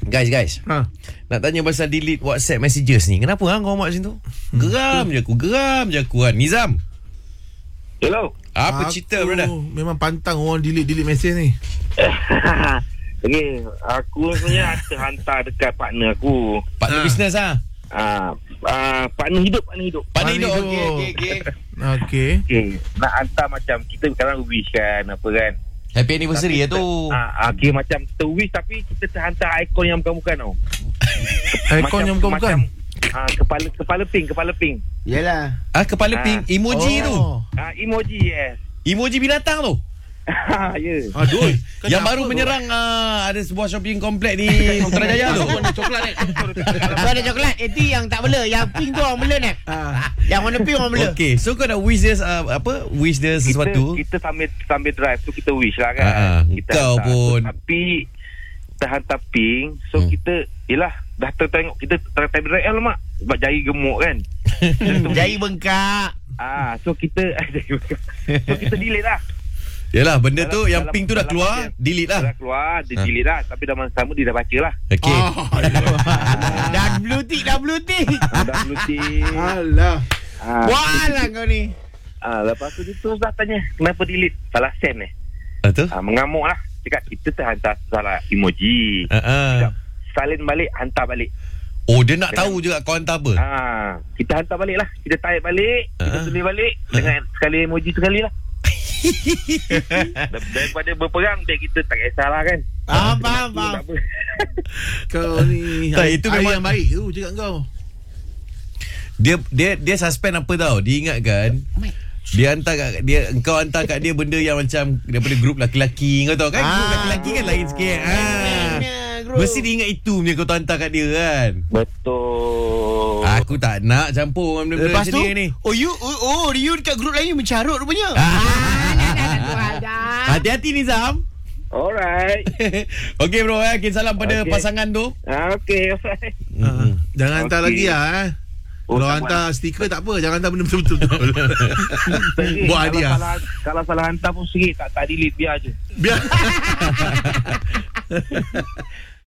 Guys, nak tanya pasal delete WhatsApp messages ni. Kenapa kau buat macam tu? Geram je aku kan. Nizam, Hello. apa cerita brother? Memang pantang orang delete message ni. Okay, aku sebenarnya terhantar dekat partner aku. Partner bisnes ah. Partner hidup. Partner hidup. Okey. Okay. Okay, nak hantar macam kita sekarang wish kan, apa kan. Happy anniversary Tapi tu. Okay, macam kita wish tapi kita terhantar ikon yang bukan-bukan tau. Ikon yang bukan. Kepala pink. Yalah. Kepala pink emoji tu. Emoji, yes. Emoji binatang tu. Ya. Aduh. Yang baru menyerang ada sebuah shopping komplek di Putrajaya tu. Warna coklat ni. Warna coklat. Itu yang tak bela. Yang pink tu orang bela ni. Yang warna pink orang bela. Okay, so kau nak wish dia wish dia sesuatu. Kita sambil drive tu kita wish lah kan. Kita kau hantar. pun. Tapi terhantar pink. So kita yelah dah tertengok kita drive mak sebab jari gemuk kan. Jari bengkak. So kita delete lah. Yalah, benda tu yang pink tu dah keluar, delete lah. Dah keluar, dia delete lah. Tapi dalam sama dia dah baca lah. Okay. Dah blue tick. Dah blue tick. Alah. Walah kau ni. Lepas tu dia terus dah tanya kenapa delete. Salah send Tu? mengamuk lah. Cakap kita terhantar salah emoji. Cakap salin balik, hantar balik. Oh, dia nak tahu juga kau hantar apa. Kita hantar balik lah. Kita type balik, kita tulis balik dengan sekali emoji sekali lah. Daripada berperang biar kita tak kisahlah kan. Faham. Kau ni Tak, itu memang yang baik tu cakap kau. Dia suspend apa tau. Dia ingatkan engkau hantar kat dia benda yang macam daripada grup laki-laki. Kau tahu kan grup laki-laki kan lain sikit. Mesti dia ingat itu punya kau hantar kat dia kan. Betul. Aku tak nak campur dengan benda-benda macam dia ni. You dekat grup lain mencarut rupanya. Hati-hati Nizam. Alright. Okay bro, salam pada pasangan tu. Okay, alright. Jangan hantar lagi lah. Kalau hantar stiker tak apa, jangan hantar benda betul-betul. Buat hadiah. Kalau salah hantar pun sikit tak delete, biar je. Biar